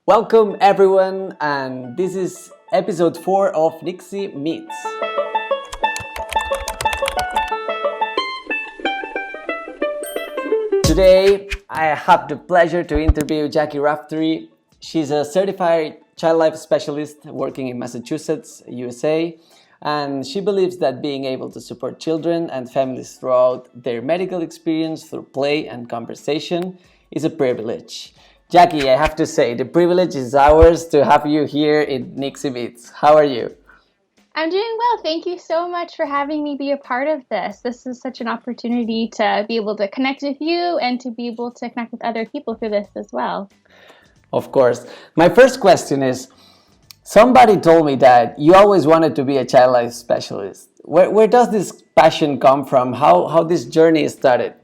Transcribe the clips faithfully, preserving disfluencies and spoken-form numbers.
Welcome everyone, and this is episode four of Nixie Meets. Today, I have the pleasure to interview Jackie Raftery. She's a certified child life specialist working in Massachusetts, U S A, and she believes that being able to support children and families throughout their medical experience through play and conversation is a privilege. Jackie, I have to say, the privilege is ours to have you here in Nixie Meets. How are you? I'm doing well. Thank you so much for having me be a part of this. This is such an opportunity to be able to connect with you and to be able to connect with other people through this as well. Of course. My first question is, somebody told me that you always wanted to be a child life specialist. Where, where does this passion come from? How, how this journey started?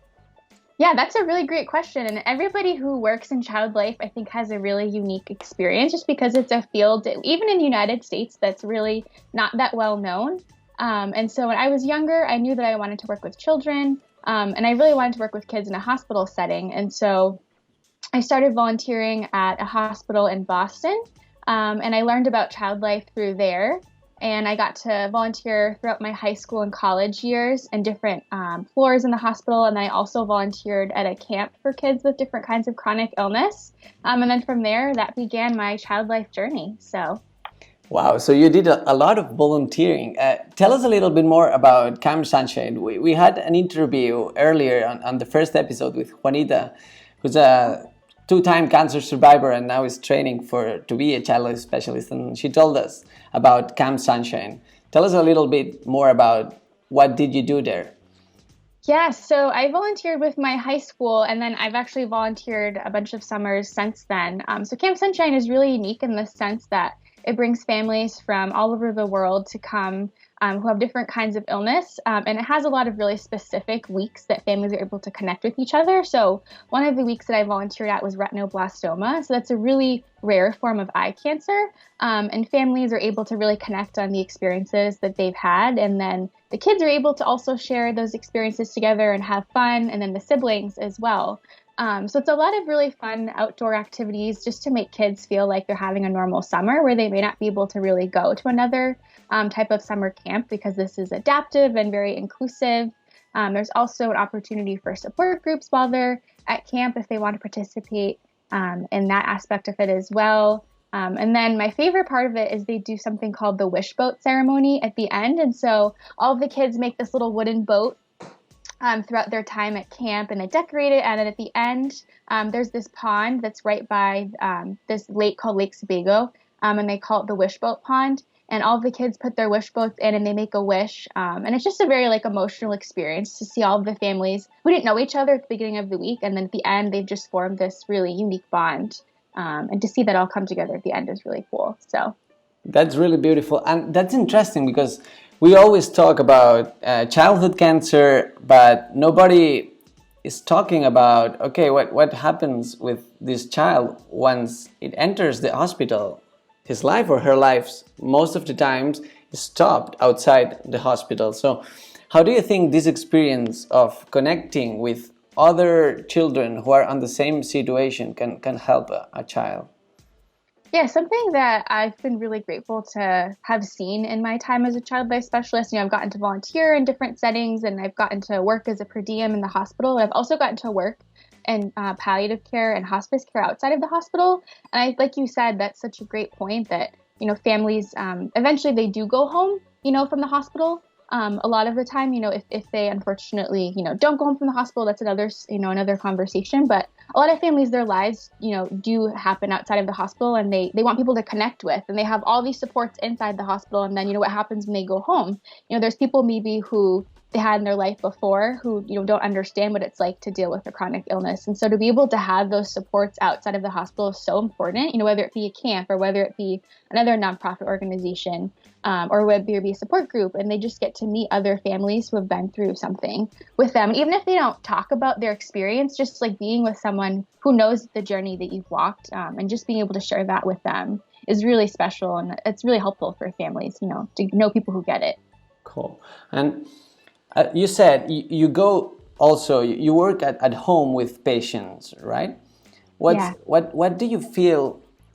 Yeah, that's a really great question. And everybody who works in child life, I think, has a really unique experience just because it's a field, even in the United States, that's really not that well known. Um, and so when I was younger, I knew that I wanted to work with children, um, and I really wanted to work with kids in a hospital setting. And so I started volunteering at a hospital in Boston, um, and I learned about child life through there. And I got to volunteer throughout my high school and college years in different um, floors in the hospital. And then I also volunteered at a camp for kids with different kinds of chronic illness. Um, and then from there, that began my child life journey. So, wow, so you did a, a lot of volunteering. Uh, tell us a little bit more about Camp Sunshine. We, we had an interview earlier on, on the first episode with Juanita, who's a two-time cancer survivor and now is training for to be a child life specialist, and she told us about Camp Sunshine. Tell us a little bit more about what did you do there? Yeah, so I volunteered with my high school, and then I've actually volunteered a bunch of summers since then. Um, so Camp Sunshine is really unique in the sense that it brings families from all over the world to come um, who have different kinds of illness. Um, and it has a lot of really specific weeks that families are able to connect with each other. So one of the weeks that I volunteered at was retinoblastoma. So that's a really rare form of eye cancer. Um, and families are able to really connect on the experiences that they've had. And then the kids are able to also share those experiences together and have fun. And then the siblings as well. Um, so it's a lot of really fun outdoor activities just to make kids feel like they're having a normal summer where they may not be able to really go to another um, type of summer camp because this is adaptive and very inclusive. Um, there's also an opportunity for support groups while they're at camp if they want to participate um, in that aspect of it as well. Um, and then my favorite part of it is they do something called the wish boat ceremony at the end. And so all of the kids make this little wooden boat Um, throughout their time at camp, and they decorate it. And then at the end, um, there's this pond that's right by um, this lake called Lake Sebago, um, and they call it the Wish Boat Pond. And all the kids put their wish boats in, and they make a wish. Um, and it's just a very like emotional experience to see all of the families who didn't know each other at the beginning of the week, and then at the end, they've just formed this really unique bond. Um, and to see that all come together at the end is really cool. So that's really beautiful, and that's interesting because we always talk about uh, childhood cancer, but nobody is talking about, okay, what, what happens with this child once it enters the hospital? His life or her life, most of the times, is stopped outside the hospital. So how do you think this experience of connecting with other children who are on the same situation can, can help a, a child? Yeah, something that I've been really grateful to have seen in my time as a child life specialist. You know, I've gotten to volunteer in different settings, and I've gotten to work as a per diem in the hospital. And I've also gotten to work in uh, palliative care and hospice care outside of the hospital. And I, like you said, that's such a great point that, you know, families, um, eventually they do go home, you know, from the hospital. Um, a lot of the time, you know, if, if they unfortunately, you know, don't go home from the hospital, that's another, you know, another conversation. But a lot of families, their lives, you know, do happen outside of the hospital, and they, they want people to connect with, and they have all these supports inside the hospital. And then, you know, what happens when they go home? You know, there's people maybe who they had in their life before who, you know, don't understand what it's like to deal with a chronic illness. And so to be able to have those supports outside of the hospital is so important, you know, whether it be a camp or whether it be another nonprofit organization, um, or whether it be a support group, and they just get to meet other families who have been through something with them. And even if they don't talk about their experience, just like being with someone who knows the journey that you've walked, um, and just being able to share that with them is really special. And it's really helpful for families, you know, to know people who get it. Cool. And Uh, you said you, you go also, you work at, at home with patients, right? What's, Yeah. What, what do you feel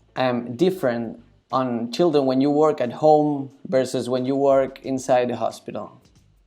um, different on children when you work at home versus when you work inside the hospital?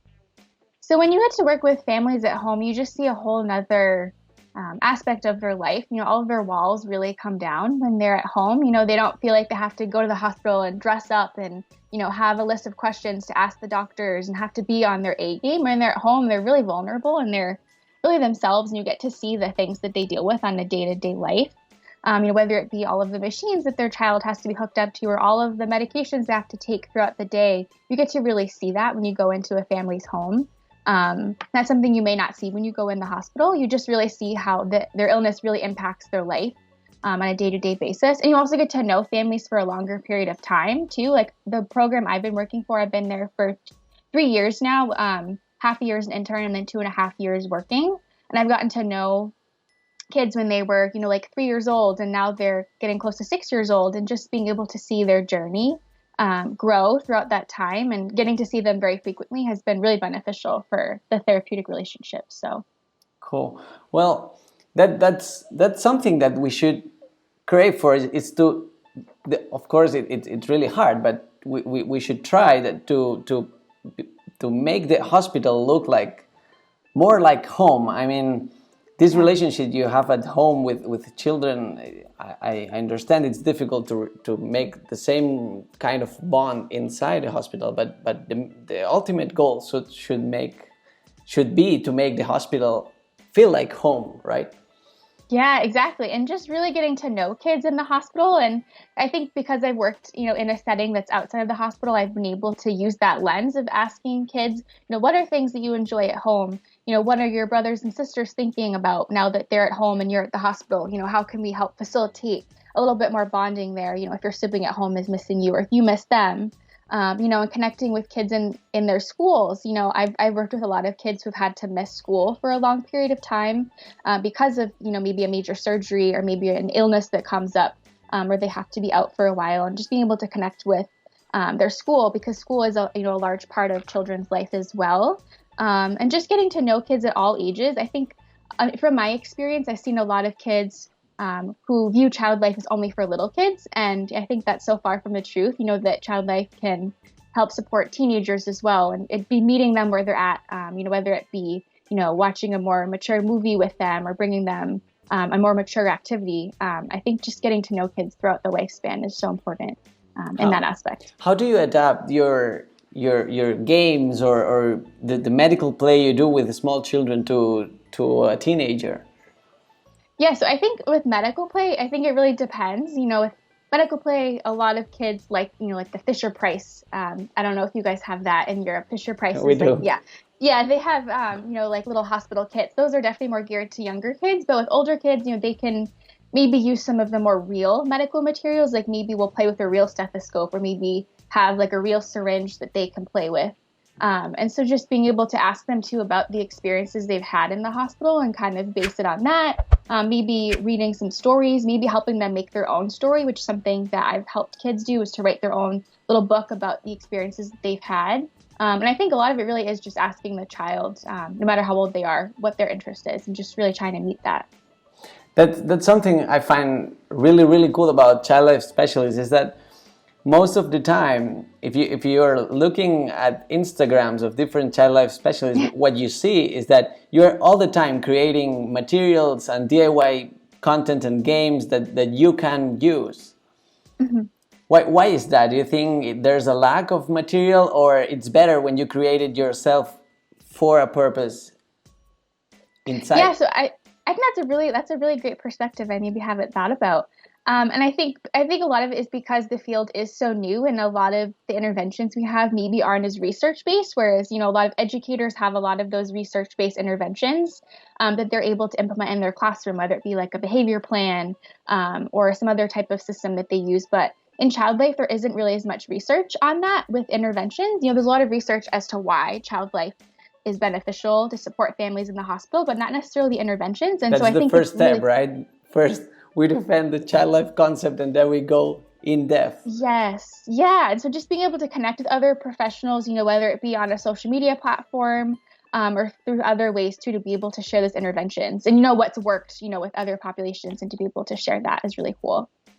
So when you get to work with families at home, you just see a whole nother um, aspect of their life. You know, all of their walls really come down when they're at home. You know, they don't feel like they have to go to the hospital and dress up and, you know, have a list of questions to ask the doctors and have to be on their A game. When they're at home, they're really vulnerable and they're really themselves, and you get to see the things that they deal with on a day-to-day life. Um, you know, whether it be all of the machines that their child has to be hooked up to or all of the medications they have to take throughout the day, you get to really see that when you go into a family's home. Um, that's something you may not see when you go in the hospital. You just really see how the, their illness really impacts their life um, on a day-to-day basis. And you also get to know families for a longer period of time, too. Like the program I've been working for, I've been there for three years now, um, half a year as an intern and then two and a half years working. And I've gotten to know kids when they were, you know, like three years old, and now they're getting close to six years old, and just being able to see their journey um, grow throughout that time and getting to see them very frequently has been really beneficial for the therapeutic relationship. So cool. Well, that that's that's something that we should crave for. Is, is to, the, of course, it, it, it's really hard, but we, we, we should try that to to to make the hospital look like more like home. I mean, this relationship you have at home with, with children, I, I understand it's difficult to to make the same kind of bond inside the hospital, but but the, the ultimate goal should should make should be to make the hospital feel like home, right? yeah, exactly. And just really getting to know kids in the hospital. And I think because I've worked, you know, in a setting that's outside of the hospital, I've been able to use that lens of asking kids, you know, what are things that you enjoy at home? You know, what are your brothers and sisters thinking about now that they're at home and you're at the hospital? You know, how can we help facilitate a little bit more bonding there? You know, if your sibling at home is missing you or if you miss them. Um, you know, and connecting with kids in, in their schools. You know, I've, I've worked with a lot of kids who've had to miss school for a long period of time uh, because of, you know, maybe a major surgery or maybe an illness that comes up um, where they have to be out for a while, and just being able to connect with um, their school, because school is a, you know, a large part of children's life as well. Um, and just getting to know kids at all ages. I think uh, from my experience, I've seen a lot of kids Um, who view child life as only for little kids. And I think that's so far from the truth, you know, that child life can help support teenagers as well. And it'd be meeting them where they're at, um, you know, whether it be, you know, watching a more mature movie with them or bringing them um, a more mature activity. Um, I think just getting to know kids throughout the lifespan is so important um, in How, that aspect. how do you adapt your your your games or, or the, the medical play you do with small children to to a teenager? Yeah, so I think with medical play, I think it really depends. You know, with medical play, a lot of kids like, you know, like the Fisher Price. Um, I don't know if you guys have that in Europe. Fisher Price is We do. like, yeah. Yeah, they have, um, you know, like little hospital kits. Those are definitely more geared to younger kids. But with older kids, you know, they can maybe use some of the more real medical materials. Like maybe we'll play with a real stethoscope or maybe have like a real syringe that they can play with. Um, and so just being able to ask them too about the experiences they've had in the hospital and kind of base it on that. Um, maybe reading some stories, maybe helping them make their own story, which is something that I've helped kids do, is to write their own little book about the experiences that they've had. Um, and I think a lot of it really is just asking the child, um, no matter how old they are, what their interest is, and just really trying to meet that. That, that's something I find really, really cool about child life specialists, is that most of the time, if you if you're looking at Instagrams of different child life specialists, what you see is that you're all the time creating materials and D I Y content and games that, that you can use. Mm-hmm. Why, why is that? Do you think there's a lack of material, or it's better when you create it yourself for a purpose inside? Yeah, so I, I think that's a really that's a really great perspective I maybe haven't thought about. Um, and I think I think a lot of it is because the field is so new, and a lot of the interventions we have maybe aren't as research-based, whereas, you know, a lot of educators have a lot of those research-based interventions um, that they're able to implement in their classroom, whether it be like a behavior plan um, or some other type of system that they use. But in child life, there isn't really as much research on that with interventions. You know, there's a lot of research as to why child life is beneficial to support families in the hospital, but not necessarily the interventions. And That's so I the think first it's step, really, right? First, we defend the child life concept, and then we go in depth. Yes. Yeah. And so just being able to connect with other professionals, you know, whether it be on a social media platform um, or through other ways too, to be able to share those interventions and, you know, what's worked, you know, with other populations, and to be able to share that is really cool.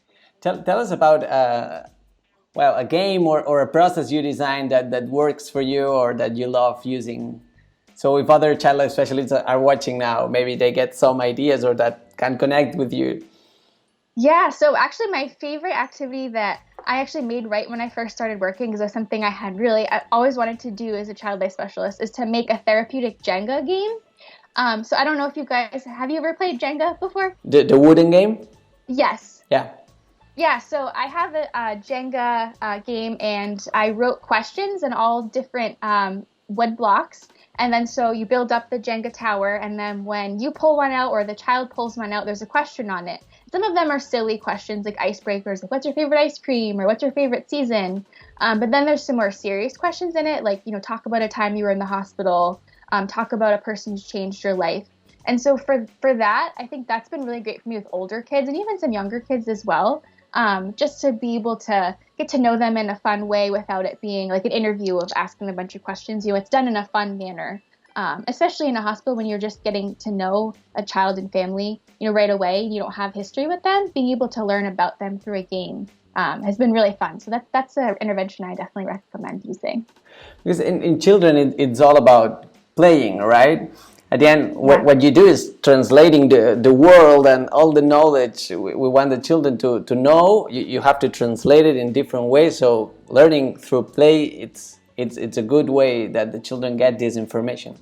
Tell, tell us about uh, well, a game or, or a process you designed that, that works for you or that you love using. So if other child life specialists are watching now, maybe they get some ideas or that can connect with you. Yeah, so actually my favorite activity that I actually made right when I first started working, because it was something I had really, I always wanted to do as a child life specialist, is to make a therapeutic Jenga game. Um, so I don't know if you guys, have you ever played Jenga before? The, the wooden game? Yes. Yeah. Yeah, so I have a, a Jenga uh, game, and I wrote questions in all different um, wood blocks. And then so you build up the Jenga tower, and then when you pull one out or the child pulls one out, there's a question on it. Some of them are silly questions, like icebreakers, like what's your favorite ice cream or what's your favorite season? Um, but then there's some more serious questions in it, like, you know, talk about a time you were in the hospital, um, talk about a person who's changed your life. And so for, for that, I think that's been really great for me with older kids and even some younger kids as well, um, just to be able to get to know them in a fun way without it being like an interview of asking a bunch of questions. You know, it's done in a fun manner. Um, especially in a hospital when you're just getting to know a child and family, you know, right away, you don't have history with them, being able to learn about them through a game um, has been really fun. So that, that's an intervention I definitely recommend using. Because in, in children, it, it's all about playing, right? At the end, Yeah. what, what you do is translating the, the world and all the knowledge we, we want the children to, to know. You, you have to translate it in different ways. So learning through play, it's It's it's a good way that the children get this information.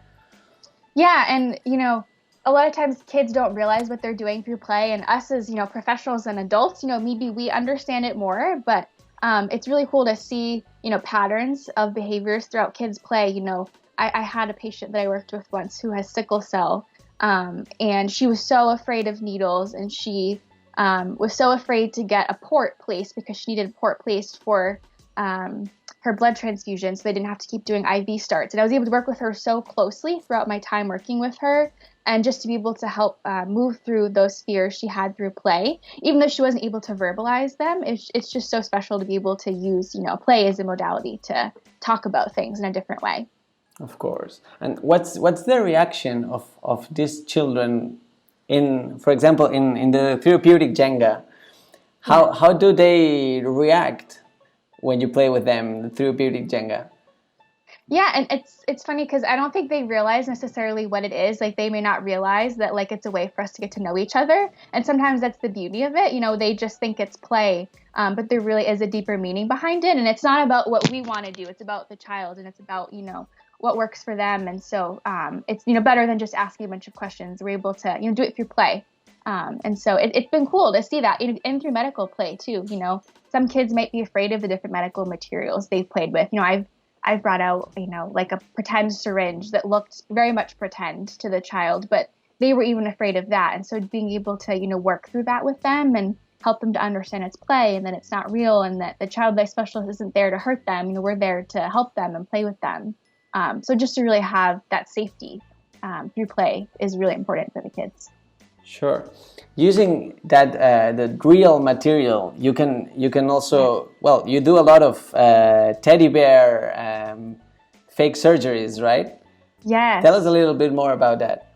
Yeah, and you know, a lot of times kids don't realize what they're doing through play, and us as, you know, professionals and adults, you know, maybe we understand it more, but um, it's really cool to see, you know, patterns of behaviors throughout kids' play. You know, I, I had a patient that I worked with once who has sickle cell, um, and she was so afraid of needles, and she um, was so afraid to get a port placed because she needed a port placed for um, her blood transfusion, so they didn't have to keep doing I V starts. And I was able to work with her so closely throughout my time working with her, and just to be able to help uh, move through those fears she had through play, even though she wasn't able to verbalize them. It's, it's just so special to be able to use, you know, play as a modality to talk about things in a different way. Of course. And what's what's the reaction of, of these children in, for example, in, in the therapeutic Jenga? How yeah. how do they react when you play with them, the therapeutic Jenga? Yeah, and it's it's funny because I don't think they realize necessarily what it is. Like, they may not realize that, like, it's a way for us to get to know each other. And sometimes that's the beauty of it. You know, they just think it's play, um, but there really is a deeper meaning behind it. And it's not about what we want to do. It's about the child, and it's about, you know, what works for them. And so um, it's, you know, better than just asking a bunch of questions. We're able to, you know, do it through play. Um, and so it, it's been cool to see that, and through medical play too. You know, some kids might be afraid of the different medical materials they've played with. You know, I've I've brought out, you know, like a pretend syringe that looked very much pretend to the child, but they were even afraid of that. And so being able to, you know, work through that with them and help them to understand it's play and that it's not real, and that the child life specialist isn't there to hurt them. You know, we're there to help them and play with them. Um, so just to really have that safety um, through play is really important for the kids. Sure. Using that uh, the real material, you can you can also, well, you do a lot of uh, teddy bear um, fake surgeries, right? Yes. Tell us a little bit more about that.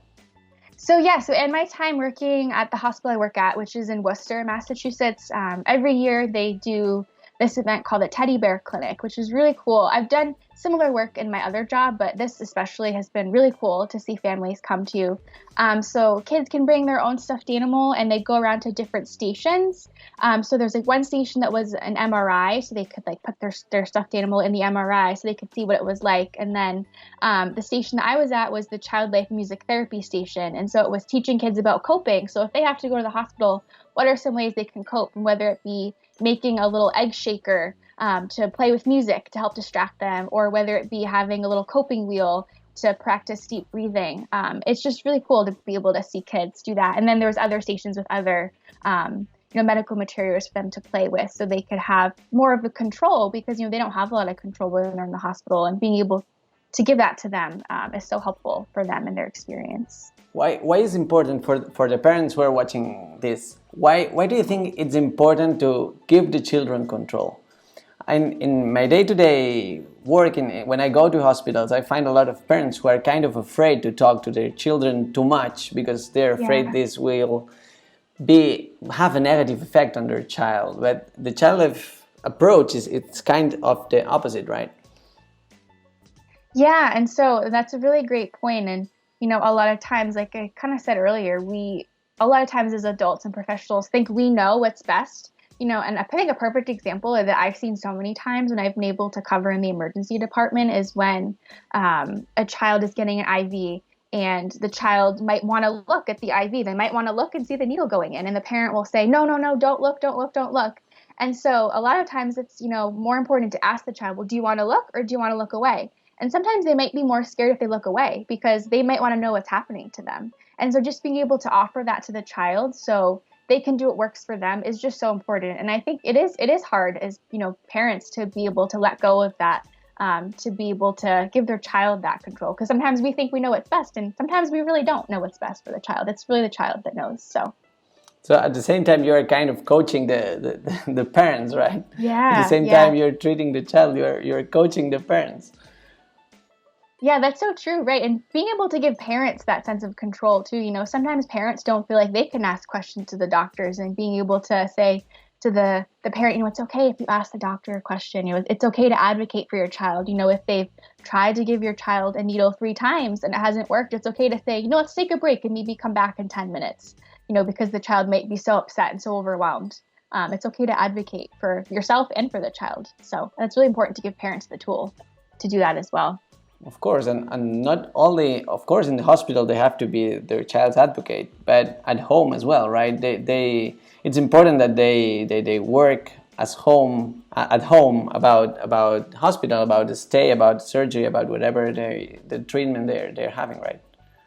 So yeah, so in my time working at the hospital I work at, which is in Worcester, Massachusetts, um, every year they do this event called the Teddy Bear Clinic, which is really cool. I've done similar work in my other job, but this especially has been really cool to see families come to. Um, so kids can bring their own stuffed animal, and they go around to different stations. Um, so there's like one station that was an M R I, so they could like put their their stuffed animal in the M R I so they could see what it was like. And then um, the station that I was at was the Child Life Music Therapy Station, and so it was teaching kids about coping. So if they have to go to the hospital, what are some ways they can cope, and whether it be making a little egg shaker um, to play with music to help distract them, or whether it be having a little coping wheel to practice deep breathing. Um, it's just really cool to be able to see kids do that. And then there's other stations with other um, you know, medical materials for them to play with, so they could have more of a control, because, you know, they don't have a lot of control when they're in the hospital, and being able to give that to them um, is so helpful for them in their experience. Why why is it important for for the parents who are watching this? Why why do you think it's important to give the children control? And in my day-to-day work, in, when I go to hospitals, I find a lot of parents who are kind of afraid to talk to their children too much, because they're afraid Yeah. this will be have a negative effect on their child. But the child approach is it's kind of the opposite, right? Yeah, and so that's a really great point. And, you know, a lot of times, like I kind of said earlier, we, a lot of times as adults and professionals think we know what's best, you know, and I think a perfect example that I've seen so many times when I've been able to cover in the emergency department is when um, a child is getting an I V and the child might want to look at the I V. They might want to look and see the needle going in, and the parent will say, no, no, no, don't look, don't look, don't look. And so a lot of times it's, you know, more important to ask the child, well, do you want to look or do you want to look away? And sometimes they might be more scared if they look away because they might want to know what's happening to them. And so just being able to offer that to the child so they can do what works for them is just so important. And I think it is it is hard as, you know, parents to be able to let go of that, um, to be able to give their child that control. Because sometimes we think we know what's best, and sometimes we really don't know what's best for the child. It's really the child that knows. So. So at the same time, you're kind of coaching the, the, the parents, right? Yeah. At the same yeah. time, you're treating the child, you're, you're coaching the parents. Yeah, that's so true, right? And being able to give parents that sense of control too, you know, sometimes parents don't feel like they can ask questions to the doctors, and being able to say to the, the parent, you know, it's okay if you ask the doctor a question, you know, it's okay to advocate for your child. You know, if they've tried to give your child a needle three times and it hasn't worked, it's okay to say, you know, let's take a break and maybe come back in ten minutes, you know, because the child might be so upset and so overwhelmed. Um, it's okay to advocate for yourself and for the child. So that's really important to give parents the tool to do that as well. Of course, and, and not only, of course, in the hospital they have to be their child's advocate, but at home as well, right? They, they, it's important that they, they, they work as home at home about about hospital, about the stay, about surgery, about whatever they, the treatment they're they're having, right?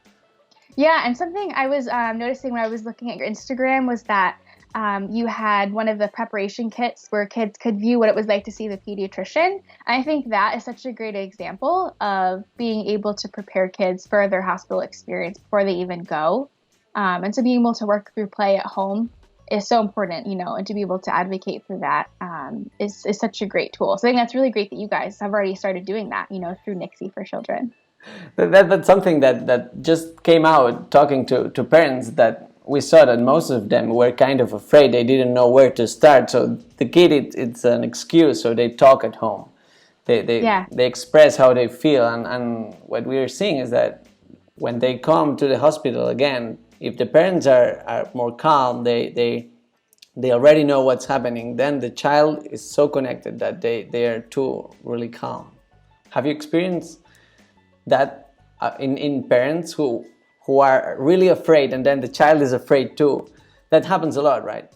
Yeah, and something I was um, noticing when I was looking at your Instagram was that Um, you had one of the preparation kits where kids could view what it was like to see the pediatrician. I think that is such a great example of being able to prepare kids for their hospital experience before they even go. Um, and so being able to work through play at home is so important, you know, and to be able to advocate for that um, is, is such a great tool. So I think that's really great that you guys have already started doing that, you know, through Nixie for Children. That, that, that's something that, that just came out talking to, to parents, that we saw that most of them were kind of afraid. They didn't know where to start. So the kid, it, it's an excuse. So they talk at home. They they, yeah. they express how they feel. And, and what we are seeing is that when they come to the hospital again, if the parents are, are more calm, they, they, they already know what's happening, then the child is so connected that they, they are too really calm. Have you experienced that uh, in, in parents who who are really afraid, and then the child is afraid too? That happens a lot, right?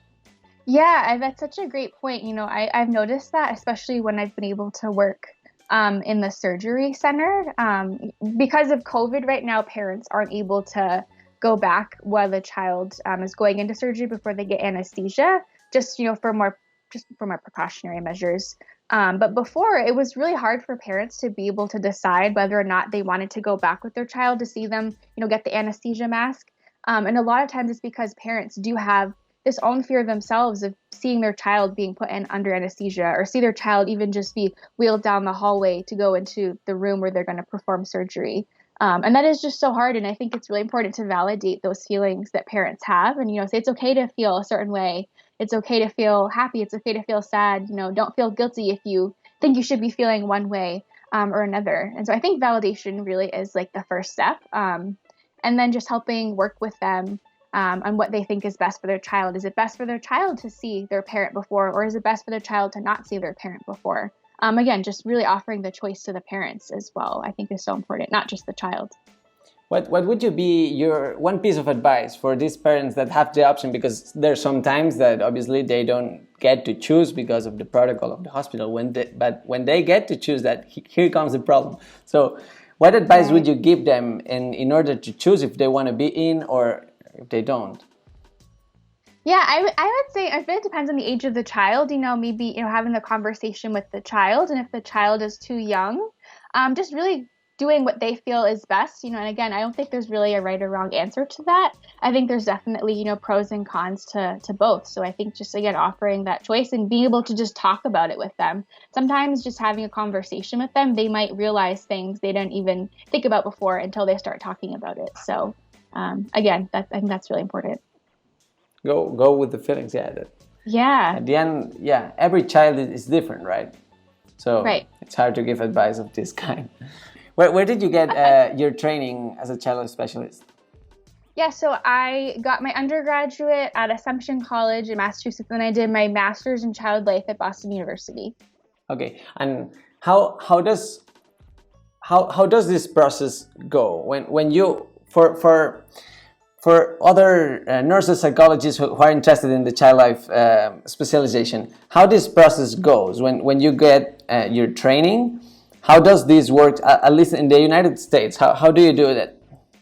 Yeah, that's such a great point. You know, I, I've noticed that, especially when I've been able to work um, in the surgery center. Um, because of COVID right now, parents aren't able to go back while the child um, is going into surgery before they get anesthesia, just, you know, for more, just for more precautionary measures. Um, but before, it was really hard for parents to be able to decide whether or not they wanted to go back with their child to see them, you know, get the anesthesia mask. Um, and a lot of times it's because parents do have this own fear themselves of seeing their child being put in under anesthesia, or see their child even just be wheeled down the hallway to go into the room where they're going to perform surgery. Um, and that is just so hard. And I think it's really important to validate those feelings that parents have, and, you know, say it's okay to feel a certain way. It's okay to feel happy. It's okay to feel sad. You know, don't feel guilty if you think you should be feeling one way um, or another. And so I think validation really is like the first step. Um, and then just helping work with them um, on what they think is best for their child. Is it best for their child to see their parent before, or is it best for their child to not see their parent before? Um, again, just really offering the choice to the parents as well, I think is so important, not just the child. What what would you be your one piece of advice for these parents that have the option? Because there's some times that obviously they don't get to choose because of the protocol of the hospital. When they, but when they get to choose that, here comes the problem. So what advice right. would you give them in, in order to choose if they want to be in or if they don't? Yeah, I, w- I would say I think it depends on the age of the child. You know, maybe, you know, having the conversation with the child, and if the child is too young, um, just really doing what they feel is best, you know, and again, I don't think there's really a right or wrong answer to that. I think there's definitely, you know, pros and cons to, to both. So I think just, again, offering that choice and being able to just talk about it with them. Sometimes just having a conversation with them, they might realize things they didn't even think about before until they start talking about it. So um, again, that, I think that's really important. go go with the feelings. Yeah, that, Yeah. at the end, yeah, every child is, is different, right? So Right. it's hard to give advice of this kind. Where, where did you get uh, your training as a child specialist? Yeah, so I got my undergraduate at Assumption College in Massachusetts, and I did my master's in child life at Boston University. Okay, and how how does how how does this process go when when you for for for other uh, nurses, psychologists who, who are interested in the child life uh, specialization, how this process goes when when you get uh, your training? How does this work? Uh, at least in the United States, how how do you do that?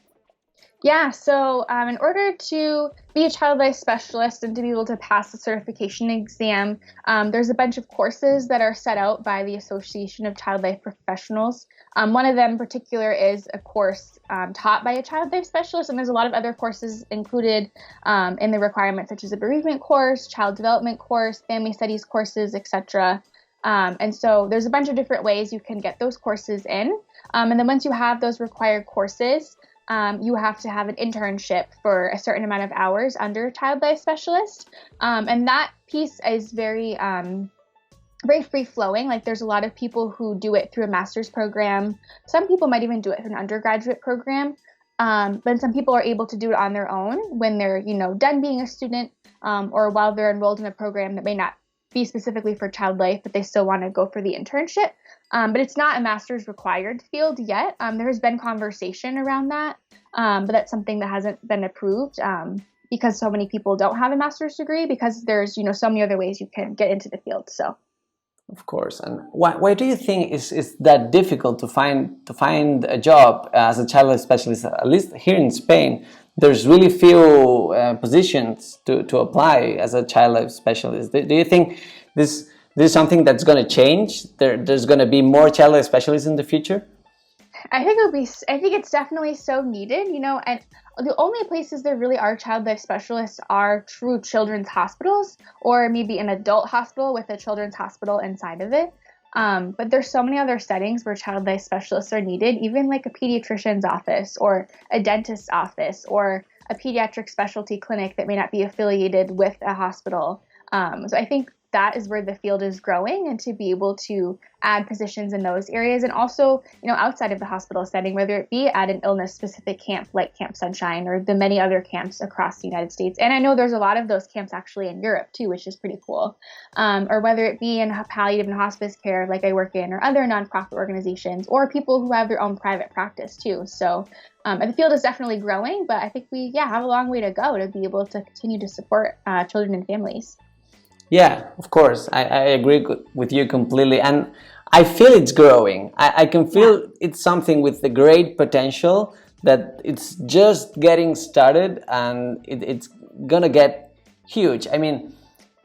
Yeah, so um, in order to be a child life specialist and to be able to pass the certification exam, um, there's a bunch of courses that are set out by the Association of Child Life Professionals. Um, one of them in particular is a course um, taught by a child life specialist, and there's a lot of other courses included um, in the requirements, such as a bereavement course, child development course, family studies courses, et cetera. Um, and so there's a bunch of different ways you can get those courses in. Um, and then once you have those required courses, Um, you have to have an internship for a certain amount of hours under a child life specialist. Um, and that piece is very, um, very free flowing. Like there's a lot of people who do it through a master's program. Some people might even do it through an undergraduate program. Um, but some people are able to do it on their own when they're, you know, done being a student, um, or while they're enrolled in a program that may not be specifically for child life, but they still want to go for the internship. Um, but it's not a master's required field yet. Um, there has been conversation around that, um, but that's something that hasn't been approved um, because so many people don't have a master's degree, because there's, you know, so many other ways you can get into the field. So, Of course. And why, why do you think it's, it's that difficult to find to find a job as a child life specialist? At least here in Spain, there's really few uh, positions to, to apply as a child life specialist. Do, do you think this this is something that's going to change? There, there's going to be more child life specialists in the future? I think it'll be. I think it's definitely so needed. You know, and the only places there really are child life specialists are true children's hospitals, or maybe an adult hospital with a children's hospital inside of it. Um, but there's so many other settings where child life specialists are needed, even like a pediatrician's office or a dentist's office or a pediatric specialty clinic that may not be affiliated with a hospital. Um, so I think that is where the field is growing, and to be able to add positions in those areas, and also, you know, outside of the hospital setting, whether it be at an illness-specific camp like Camp Sunshine or the many other camps across the United States. And I know there's a lot of those camps actually in Europe too, which is pretty cool. Um, or whether it be in palliative and hospice care like I work in, or other nonprofit organizations, or people who have their own private practice too. So um, the field is definitely growing, but I think we, yeah, have a long way to go to be able to continue to support uh, children and families. Yeah, of course. I, I agree with you completely. And I feel it's growing. I, I can feel yeah. It's something with the great potential, that it's just getting started, and it, it's going to get huge. I mean,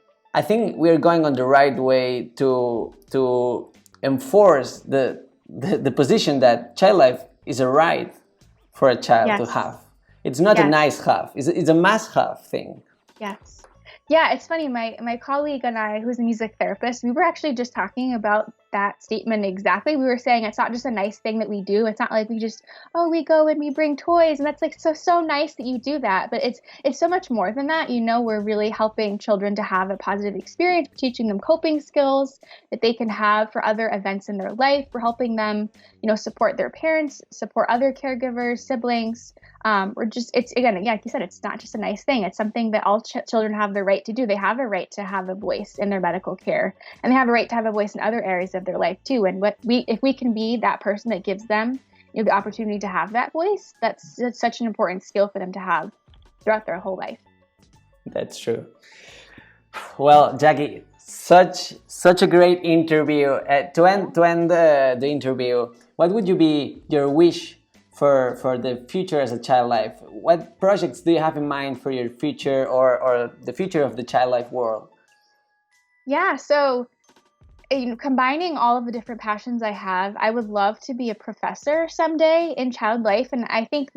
I think we're going on the right way to to enforce the, the, the position that child life is a right for a child yes. to have. It's not yes. a nice have. It's, it's a must have thing. Yes. Yeah, it's funny. My my colleague and I, who's a music therapist, we were actually just talking about that statement exactly. We were saying it's not just a nice thing that we do. It's not like we just, oh, we go and we bring toys, and that's like so so nice that you do that. But it's it's so much more than that. You know, we're really helping children to have a positive experience, teaching them coping skills that they can have for other events in their life. We're helping them, you know, support their parents, support other caregivers, siblings. Um, or just, it's, again, yeah, like you said, it's not just a nice thing. It's something that all ch- children have the right to do. They have a right to have a voice in their medical care, and they have a right to have a voice in other areas of their life too. And what we, if we can be that person that gives them, you know, the opportunity to have that voice, that's, that's such an important skill for them to have throughout their whole life. That's true. Well, Jackie, such such a great interview. Uh, to end to end uh, the interview, what would you be your wish for for the future as a child life? What projects do you have in mind for your future, or or the future of the child life world? Yeah, so you know, combining all of the different passions I have, I would love to be a professor someday in child life. And I think that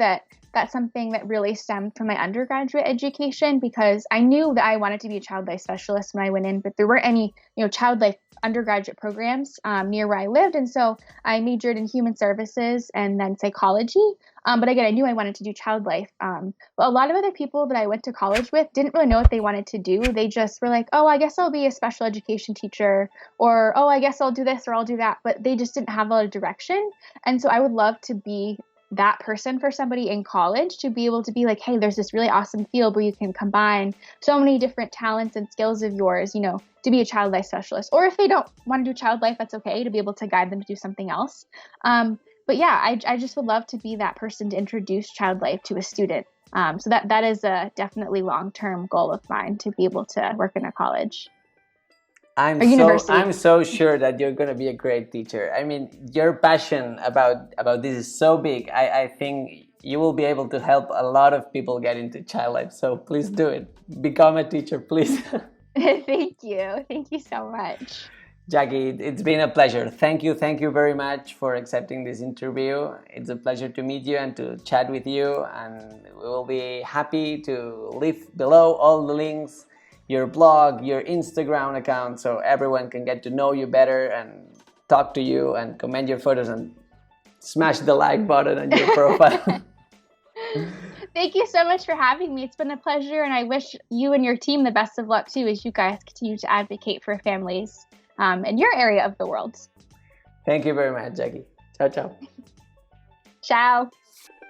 that's something that really stemmed from my undergraduate education, because I knew that I wanted to be a child life specialist when I went in, but there weren't any, you know, child life undergraduate programs um, near where I lived. And so I majored in human services and then psychology. Um, but again, I knew I wanted to do child life. Um, but a lot of other people that I went to college with didn't really know what they wanted to do. They just were like, oh, I guess I'll be a special education teacher, or, oh, I guess I'll do this or I'll do that. But they just didn't have a lot of direction. And so I would love to be that person for somebody in college, to be able to be like, hey, there's this really awesome field where you can combine so many different talents and skills of yours, you know, to be a child life specialist. Or if they don't want to do child life, that's okay, to be able to guide them to do something else. Um, but yeah, I, I just would love to be that person to introduce child life to a student. Um, so that that is a definitely long-term goal of mine, to be able to work in a college. I'm so I'm so sure that you're going to be a great teacher. I mean, your passion about about this is so big. I, I think you will be able to help a lot of people get into child life. So please do it. Become a teacher, please. Thank you. Thank you so much. Jackie, it's been a pleasure. Thank you. Thank you very much for accepting this interview. It's a pleasure to meet you and to chat with you. And we will be happy to leave below all the links, your blog, your Instagram account, so everyone can get to know you better and talk to you and comment your photos and smash the like button on your profile. Thank you so much for having me. It's been a pleasure, and I wish you and your team the best of luck too, as you guys continue to advocate for families um, in your area of the world. Thank you very much, Jackie. Ciao, ciao. Ciao.